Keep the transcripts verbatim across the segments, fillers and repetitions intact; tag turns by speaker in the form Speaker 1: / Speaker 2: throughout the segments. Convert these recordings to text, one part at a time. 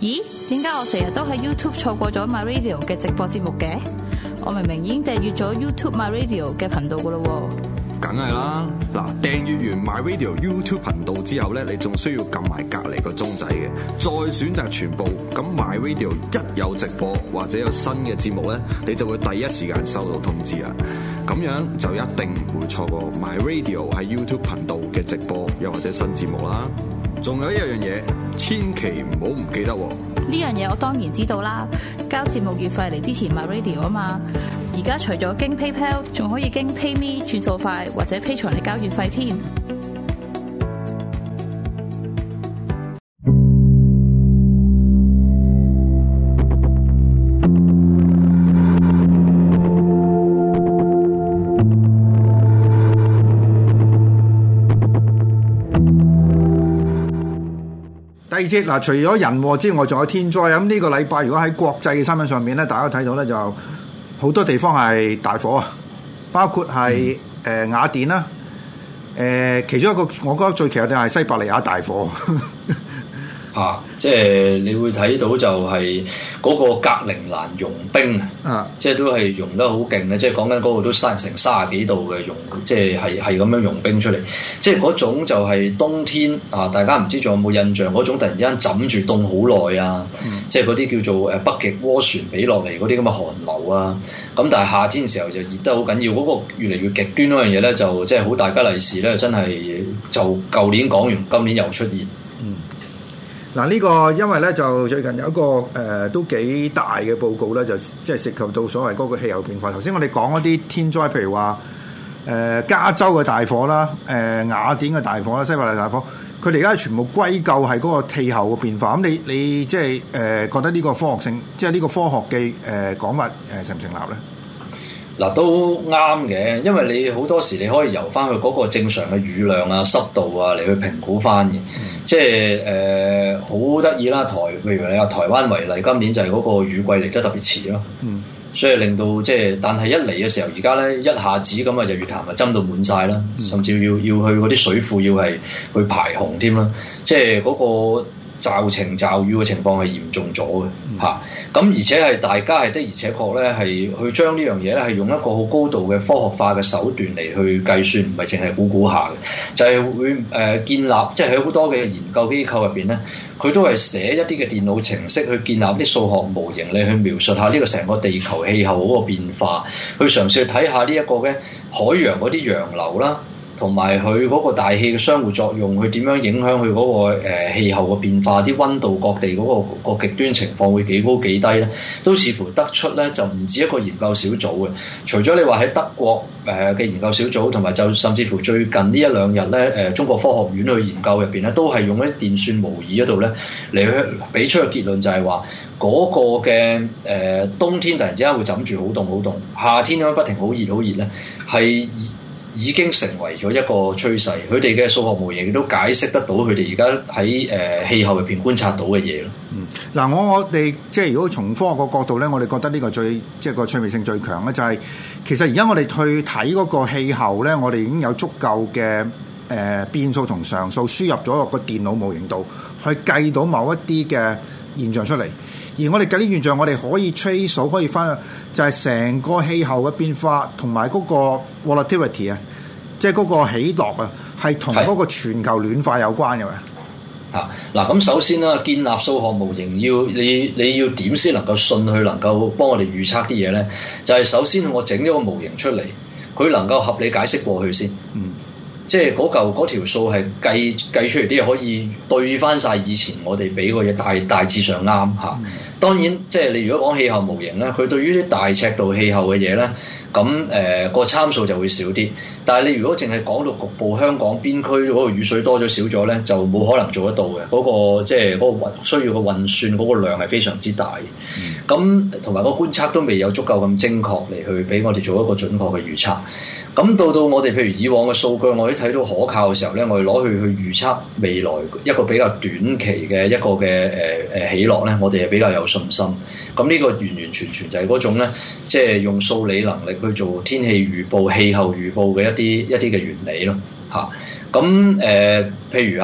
Speaker 1: 咦？點解我成日都喺 YouTube 錯過咗 My Radio 嘅直播節目嘅？我明明已經訂閱咗 YouTube My Radio 嘅頻道噶咯喎。
Speaker 2: 梗係啦，嗱，訂閱完 My Radio YouTube 頻道之後咧，你仲需要撳埋隔離個鐘仔嘅，再選擇全部。咁 My Radio 一有直播或者有新嘅節目咧，你就會第一時間收到通知啦。咁樣就一定唔會錯過 My Radio 喺 YouTube 頻道嘅直播又或者新節目啦。仲有一樣嘢，千祈唔好唔記得喎。
Speaker 1: 呢樣嘢我當然知道啦，交節目月費嚟支持 My Radio 啊嘛。而家除咗經 PayPal， 仲可以經 PayMe 轉數快或者 Patreon嚟交月費添。
Speaker 3: 第二節嗱，除咗人禍之外，仲有天災啊！咁呢個禮拜如果喺國際嘅新聞上面咧，大家睇到咧就好多地方係大火啊，包括係誒、嗯呃、雅典啦，誒、呃、其中一個我覺得最奇嘅就係西伯利亞大火。
Speaker 4: 啊！即係你會睇到就係嗰個格陵蘭融冰啊，即係都係融得好勁嘅，即係講緊嗰度都三成三十幾度嘅融，即係係係咁樣融冰出嚟，即係嗰種就係冬天啊！大家唔知仲有冇印象嗰種突然之間枕住凍好耐啊！嗯、即係嗰啲叫做誒北極渦旋俾落嚟嗰啲咁嘅寒流啊！咁但係夏天嘅時候就熱得好緊要，嗰、嗰個越嚟越極端嗰樣嘢咧，就即係好大吉利是咧，真係就舊年講完，今年又出現。嗯。
Speaker 3: 嗱，呢個因為咧就最近有一個誒、呃、都幾大嘅報告咧，就即係涉及到所謂嗰個氣候變化。頭先我哋講嗰啲天災，譬如話誒、呃、加州嘅大火啦、誒、呃、雅典嘅大火啦、西伯利亞大火，佢哋而家全部歸咎係嗰個氣候嘅變化。咁你你即係誒、呃、覺得呢個科學性，即係呢個科學嘅誒講法誒成唔成立咧？
Speaker 4: 嗱，都啱嘅，因為你好多時你可以由翻去嗰個正常嘅雨量啊、濕度啊嚟去評估翻嘅，嗯、即係誒好得意啦。台譬如你話台灣為例，今年就係嗰個雨季嚟得特別遲咯，嗯、所以令到即係，但係一嚟嘅時候，而家咧一下子咁啊，日月潭啊斟到滿晒啦，嗯、甚至要要去嗰啲水庫要係去排洪添啦，即係嗰個驟晴驟雨嘅情況係嚴重咗嘅嚇。咁、嗯啊、而且係大家係的而且確咧係去將呢樣嘢咧係用一個好高度嘅科學化嘅手段嚟去計算，唔係淨係估估下嘅，就係、是、會誒、呃、建立，即係喺好多嘅研究機構入邊咧，佢都係寫一啲嘅電腦程式去建立啲數學模型嚟去描述下呢個成個地球氣候嗰個變化，去嘗試去睇下呢一個嘅海洋嗰啲洋流啦。同埋佢嗰個大氣嘅相互作用，佢點樣影響佢嗰、那個誒、呃、氣候嘅變化，啲溫度各地嗰、那個、那個極端情況會幾高幾低咧，都似乎得出咧就唔止一個研究小組嘅。除咗你話喺德國誒嘅、呃、研究小組，同埋就甚至乎最近呢一兩日咧誒中國科學院去研究入邊咧，都係用一啲電算模擬嗰度咧嚟去俾出嘅結論就係話嗰個嘅誒、呃、冬天突然之間會枕住好凍好凍，夏天咁樣不停好熱好熱咧係。已經成為咗一個趨勢，佢哋嘅數學模型都解釋得到佢哋而家喺誒氣候入邊觀察到嘅嘢咯。
Speaker 3: 嗯，嗱，我我哋即係如果從科學個角度咧，我哋覺得呢個最即係個趣味性最強咧，就係、是、其實而家我哋去睇嗰個氣候咧，我哋已經有足夠嘅誒、呃、變數同常數輸入咗落個電腦模型度，去計到某一啲嘅現象出嚟。而我哋計啲現象，我哋可以 trace 可以翻，就係成個氣候嘅變化同埋嗰個 volatility 啊，即係嗰個起落啊，係同嗰個全球暖化有關嘅嘛。
Speaker 4: 嚇嗱，咁首先啦，建立數學模型要你你要點先能夠信佢能夠幫我哋預測啲嘢咧？就係、是、首先我整咗個模型出嚟，佢能夠合理解釋過去先。嗯。即係嗰嚿嗰條數係計計出嚟啲嘢可以對翻晒以前我哋俾個嘢大大致上啱嚇。嗯、當然即係你如果講氣候模型咧，佢對於啲大尺度氣候嘅嘢咧，咁誒個參數就會少啲。但係你如果淨係講到局部香港邊區嗰個雨水多咗少咗咧，就冇可能做得到嘅。嗰、嗰個即係嗰個運需要嘅運算嗰個量係非常之大。咁同埋個觀測都未有足夠咁精確嚟去俾我哋做一個準確嘅預測。咁到到我哋譬如以往嘅數據，我哋睇到可靠嘅時候咧，我哋攞去去預測未來一個比較短期嘅一個嘅誒誒起落咧，我哋係比較有信心。咁呢個完完全全就係嗰種咧，即係用數理能力去做天氣預報、氣候預報嘅一啲一啲嘅原理咯，嚇。咁誒，譬如啊。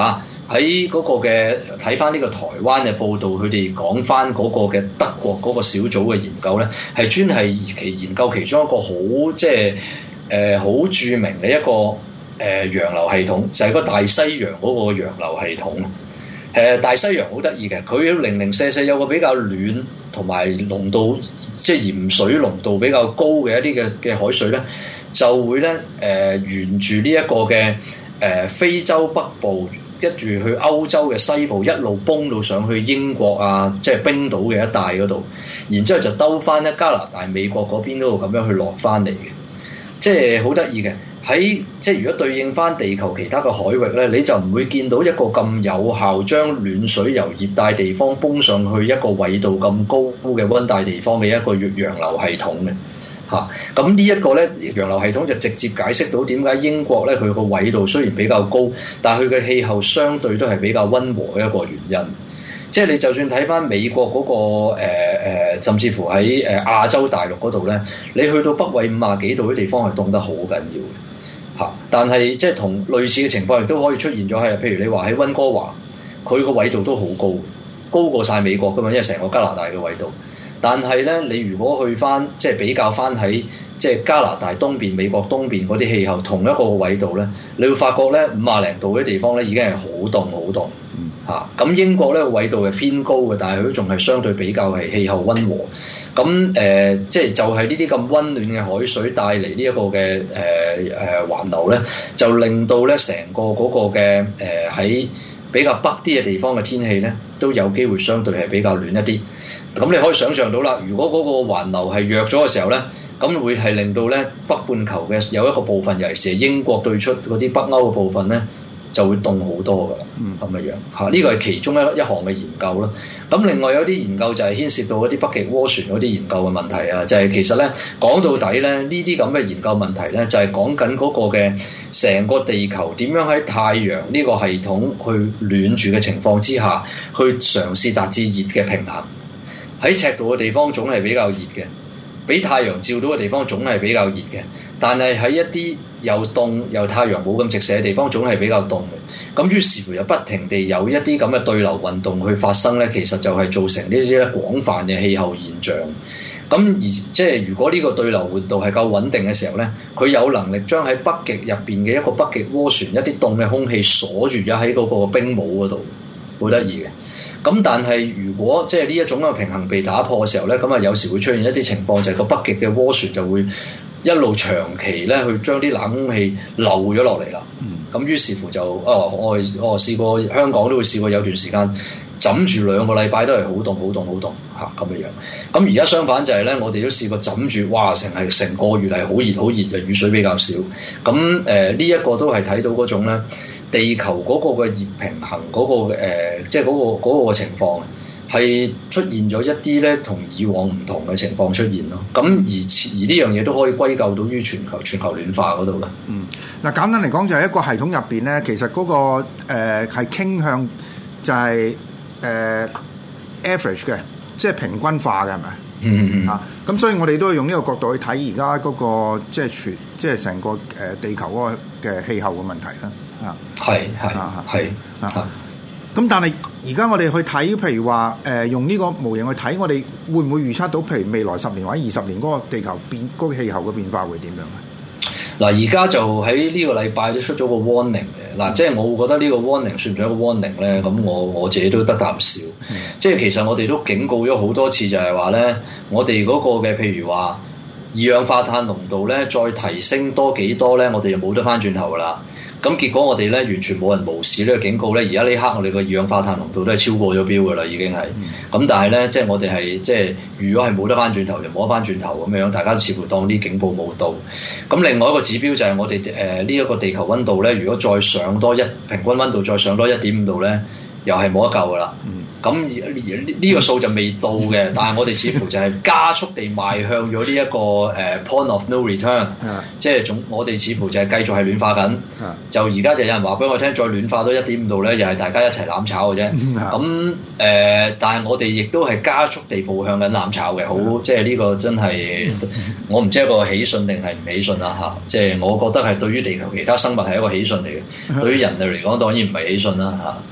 Speaker 4: 喺嗰個嘅睇翻呢個台灣嘅報道，佢哋講翻嗰個嘅德國嗰個小組嘅研究咧，係專係其研究其中一個好即係誒好著名嘅一個誒、呃、洋流系統，就係、是、個大西洋嗰個洋流系統。誒、呃、大西洋好得意嘅，佢零零舍舍有個比較暖同埋濃度即係鹽水濃度比較高嘅一啲嘅嘅海水咧，就會咧誒、呃、沿住呢一個嘅誒、呃、非洲北部。跟住去歐洲嘅西部一路崩到上去英國啊，即係冰島嘅一帶嗰度，然之後就兜翻咧加拿大、美國嗰邊嗰度咁樣去落翻嚟嘅，即係好得意嘅。喺即係如果對應翻地球其他嘅海域咧，你就唔會見到一個咁有效將暖水由熱帶地方崩上去一個緯度咁高嘅溫帶地方嘅一個洋流系統嘅。嚇，咁呢一個咧洋流系統就直接解釋到點解英國咧佢個緯度雖然比較高，但係佢嘅氣候相對都係比較溫和嘅一個原因。即係你就算睇翻美國嗰、那個誒、呃、甚至乎喺誒亞洲大陸嗰度咧，你去到北緯五十幾度嘅地方係凍得好緊要嘅嚇。但係即係同類似嘅情況亦都可以出現咗係，譬如你話喺溫哥華，佢個緯度都好高，高過晒美國㗎嘛，因為成個加拿大嘅緯度。但係咧，你如果去翻即係比較翻喺即係加拿大東邊、美國東邊嗰啲氣候同一個緯度咧，你會發覺咧五廿零度嗰啲地方咧已經係好凍好凍嚇。咁、啊、英國咧緯度係偏高嘅，但係佢都仲係相對比較係氣候溫和。咁誒、呃，即係就係呢啲咁溫暖嘅海水帶嚟呢一個嘅誒誒環流咧，就令到咧成個嗰個嘅誒喺比較北啲嘅地方嘅天氣咧，都有機會相對係比較暖一啲。咁你可以想象到啦，如果嗰個環流係弱咗嘅時候咧，咁會係令到咧北半球嘅有一個部分，尤其是英國對出嗰啲北歐嘅部分咧，就會凍好多噶啦，咁嘅樣嚇。呢個係其中一一項嘅研究咯。咁另外有啲研究就係牽涉到嗰啲北極渦旋嗰啲研究嘅問題啊，就係、是、其實咧講到底咧，呢啲咁嘅研究問題咧，就係講緊嗰個嘅成個地球點樣喺太陽呢個系統去暖住嘅情況之下，去嘗試達至熱嘅平衡。喺赤道嘅地方總係比較熱嘅，俾太陽照到嘅地方總係比較熱嘅，但係喺一啲又凍又太陽冇咁直射嘅地方總係比較凍嘅。咁於是乎又不停地有一啲咁嘅對流運動去發生咧，其實就係造成呢啲咧廣泛嘅氣候現象。咁而即係如果呢個對流活動係夠穩定嘅時候咧，佢有能力將喺北極入邊嘅一個北極渦旋一啲凍嘅空氣鎖住咗喺嗰個冰帽嗰度，好得意嘅。咁但係如果即係呢一種嘅平衡被打破嘅時候咧，咁啊有時會出現一啲情況，就係個北極嘅渦旋就會一路長期咧去將啲冷空氣漏咗落嚟啦。咁、嗯、於是乎就哦，我我試過香港都會試過有段時間枕住兩個禮拜都係好凍好凍好凍嚇咁嘅樣。咁而家相反就係咧，我哋都試過枕住，哇！成係成個月係好熱好熱嘅，雨水比較少。咁誒呢一個都係睇到嗰種咧。地球嗰個嘅熱平衡嗰、嗰個誒，即係嗰個嗰、嗰個情況係出現咗一啲咧，同以往唔同嘅情況出現咯。咁而而呢樣嘢都可以歸咎到於全球全球暖化嗰度嘅。
Speaker 3: 嗯，嗱簡單嚟講就係一個系統入邊咧，其實嗰、嗰個誒係、呃、傾向就係、是、誒、呃、average 嘅，即係平均化嘅係咪？
Speaker 4: 嗯嗯嗯。
Speaker 3: 啊，咁所以我哋都要用呢個角度去睇而家嗰個即係全即係成個誒地球嗰個嘅氣候嘅問題啦。啊，
Speaker 4: 係係係啊，
Speaker 3: 咁但係而家我哋去睇，譬如話誒、呃、用呢個模型去睇，我哋會唔會預測到，譬如未來十年或者二十年嗰個地球變嗰、嗰個氣候嘅變化會點樣啊？
Speaker 4: 嗱，而家就喺呢個禮拜都出咗個 warning 嘅，嗱，即係我會覺得呢個 warning 算唔算一個 warning 咧？咁我我自己都得啖笑，嗯、即係其實我哋都警告咗好多次，就係話咧，我哋嗰個嘅譬如話二氧化碳濃度咧，再提升多幾多咧，我哋就冇得翻轉頭噶啦。咁結果我哋咧完全冇人無視呢個警告咧，而家呢刻我哋個二氧化碳濃度都係超過咗標㗎啦，已經係。咁、嗯、但係咧，即係我哋係即係如果係冇得翻轉頭，就冇得翻轉頭咁樣，大家似乎當啲警報冇到。咁另外一個指標就係我哋誒呢一個地球溫度咧，如果再上多一平均溫度再上多一點五度咧，又係冇得救㗎啦。咁呢個數就未到嘅，但係我哋似乎就係加速地邁向咗呢一個誒、uh, point of no return，即係總我哋似乎就係繼續係暖化緊。就而家就有人話俾我聽，再暖化多一點五度咧，又係大家一齊攬炒嘅啫。咁誒、呃，但係我哋亦都係加速地步向緊攬炒嘅，好即係呢個真係我唔知係一個喜訊定係唔喜訊啦嚇。即係我覺得係對於地球其他生物係一個喜訊嚟嘅，對於人類嚟講當然唔係喜訊啦嚇。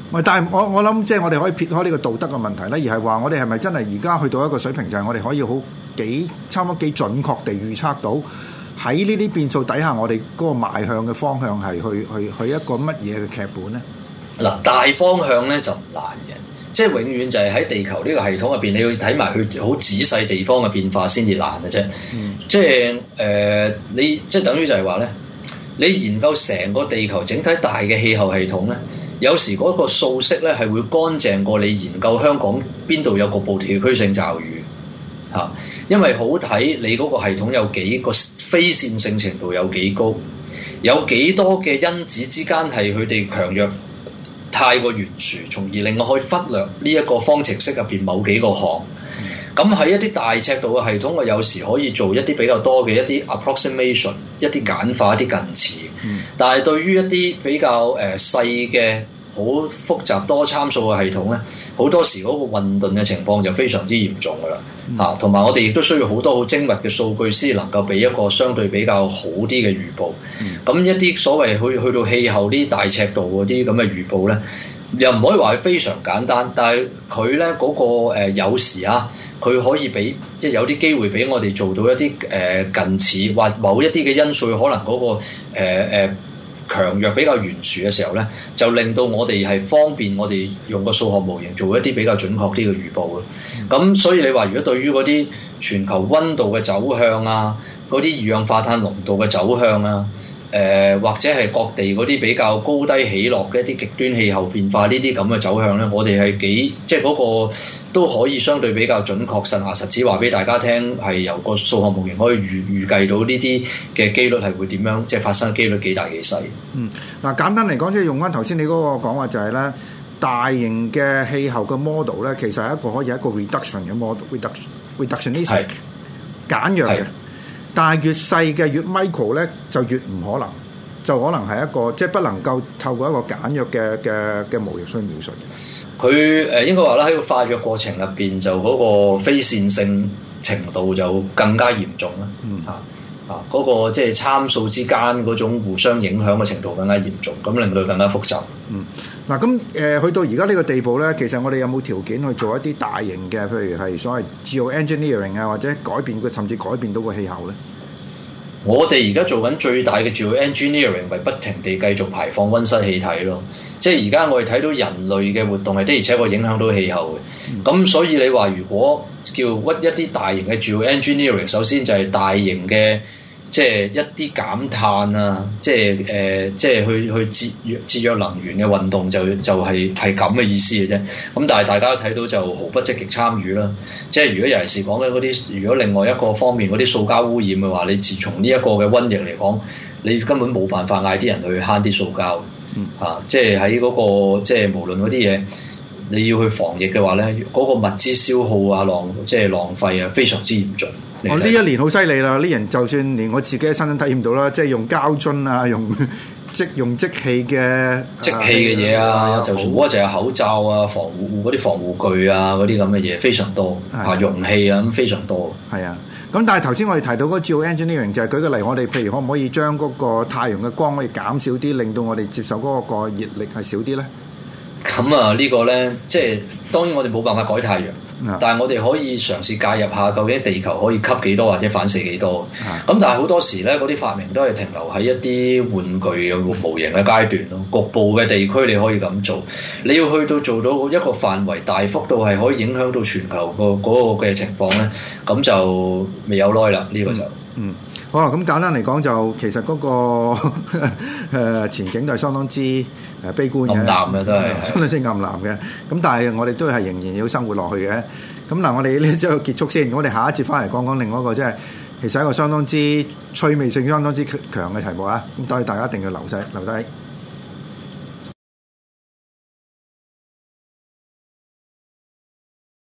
Speaker 3: 喂，但係我我諗即係我哋可以撇開呢個道德嘅問題咧，而係話我哋係咪真係而家去到一個水平，就係我哋可以好幾差唔多幾準確地預測到喺呢啲變數底下，我哋嗰個邁向嘅方向係去去去一個乜嘢嘅劇本咧？嗱，
Speaker 4: 大方向咧就唔難嘅，即係永遠就係喺地球呢個系統入邊，你要睇埋佢好仔細地方嘅變化先至難嘅啫。嗯、即係誒、呃，你即係等於就係話咧，你研究成個地球整體大嘅氣候系統咧。有時嗰個數式咧係會乾淨過你研究香港邊度有局部地區性驟雨嚇、啊，因為好睇你嗰個系統有幾個非線性程度有幾高，有幾多嘅因子之間係佢哋強弱太過懸殊，從而令我可以忽略呢一個方程式入邊某幾個項。咁喺一啲大尺度嘅系統，我有時可以做一啲比較多嘅一啲 approximation， 一啲簡化、一啲近似。嗯、但係對於一啲比較誒、呃、細嘅好複雜多參數嘅系統咧，好多時嗰個混沌嘅情況就非常之嚴重㗎啦。嚇、嗯，同埋、啊、我哋亦都需要好多好精密嘅數據先能夠俾一個相對比較好啲嘅預報。咁、嗯、一啲所謂去去到氣候呢大尺度嗰啲咁嘅預報咧，又唔可以話係非常簡單，但係佢咧嗰個誒、呃、有時啊。佢可以俾即係有啲機會俾我哋做到一啲誒、呃、近似或某一啲嘅因素，可能嗰、那個誒誒、呃、強弱比較懸殊嘅時候咧，就令到我哋係方便我哋用個數學模型做一啲比較準確啲嘅預報咯。咁、嗯、所以你話如果對於嗰啲全球溫度嘅走向啊，嗰啲二氧化碳濃度嘅走向啊，誒、呃、或者係各地嗰啲比較高低起落嘅一啲極端氣候變化呢啲咁嘅走向咧，我哋係幾即係嗰、那個。都可以相對比較準確實牙實齒話俾大家聽，係由個數學模型可以預預計到呢啲嘅機率係會點樣，即係發生機率幾大幾細。
Speaker 3: 嗯，嗱簡單嚟講，即係用翻頭先你嗰個講話就係咧，大型嘅氣候嘅 model 咧，其實係一個可以係一個 reduction 嘅 model，reduction，reductionistic 簡約嘅。但係越細嘅越 micro 咧，就越唔可能，就可能係一個即係不能夠透過一個簡約嘅嘅嘅模型去描述嘅。
Speaker 4: 佢誒應該話啦，喺個化約過程入邊，就嗰個非線性程度就更加嚴重啦。嗯啊啊，嗰、那個即係參數之間嗰種互相影響嘅程度更加嚴重，咁令到更加複雜。
Speaker 3: 嗯，嗱咁誒去到而家呢個地步咧，其實我哋有冇條件去做一啲大型嘅，譬如係所謂 geoengineering 啊，或者改變佢，甚至改變到個氣候咧？
Speaker 4: 我哋而家做緊最大嘅 geoengineering，咪不停地繼續排放溫室氣體咯。即係而家我哋睇到人類嘅活動係的而且確影響到氣候嘅。咁、嗯、所以你話如果叫屈一啲大型嘅 geoengineering，首先就係大型嘅即係一啲減碳啊，即係誒、呃、即係去去節約節約能源嘅運動就就係係咁嘅意思嘅啫。咁但係大家都睇到就毫不積極參與啦。即係如果尤其是講緊嗰啲，如果另外一個方面嗰啲塑膠污染嘅話，你自從呢一個嘅瘟疫嚟講，你根本冇辦法嗌啲人去慳啲塑膠。嗯、啊，即係喺嗰個即係無論嗰啲嘢，你要去防疫嘅話咧，嗰、嗰個物資消耗啊、浪即係浪費啊，非常之嚴重。
Speaker 3: 我呢、哦、一年好犀利啦！呢人就算連我自己嘅親身體驗到啦，即係用膠樽啊，用即用即棄嘅
Speaker 4: 即棄嘅嘢啊，啊就算我就係口罩啊、防護嗰啲防護具啊嗰啲咁嘅嘢非常多啊，容器啊咁非常多。
Speaker 3: 係啊。咁但係頭先我哋提到嗰個 geoengineering 就係舉個例，我哋譬如可唔可以將嗰個太陽嘅光可以減少啲，令到我哋接受嗰個熱力係少啲咧？
Speaker 4: 咁啊，呢個咧，即係當然我哋冇辦法改太陽，嗯、但係我哋可以嘗試介入下，究竟地球可以吸幾多或者反射幾多？咁、嗯、但係好多時咧，嗰啲發明都係停留喺一啲玩具嘅模型嘅階段咯。局部嘅地區你可以咁做，你要去到做到一個範圍大幅度係可以影響到全球個嗰個嘅情況咧，咁就未有耐啦。呢、這個就嗯。嗯好啊，咁簡單嚟講就其實嗰、那個誒前景都係相當之誒悲觀嘅，暗淡嘅都係相當之暗藍嘅。咁但係我哋都係仍然要生活落去嘅。咁嗱，我哋呢節結束先，我哋下一節翻嚟講講另外一個即係其實一個相當之趣味性相當之強嘅題目啊！咁所以大家一定要留低留低。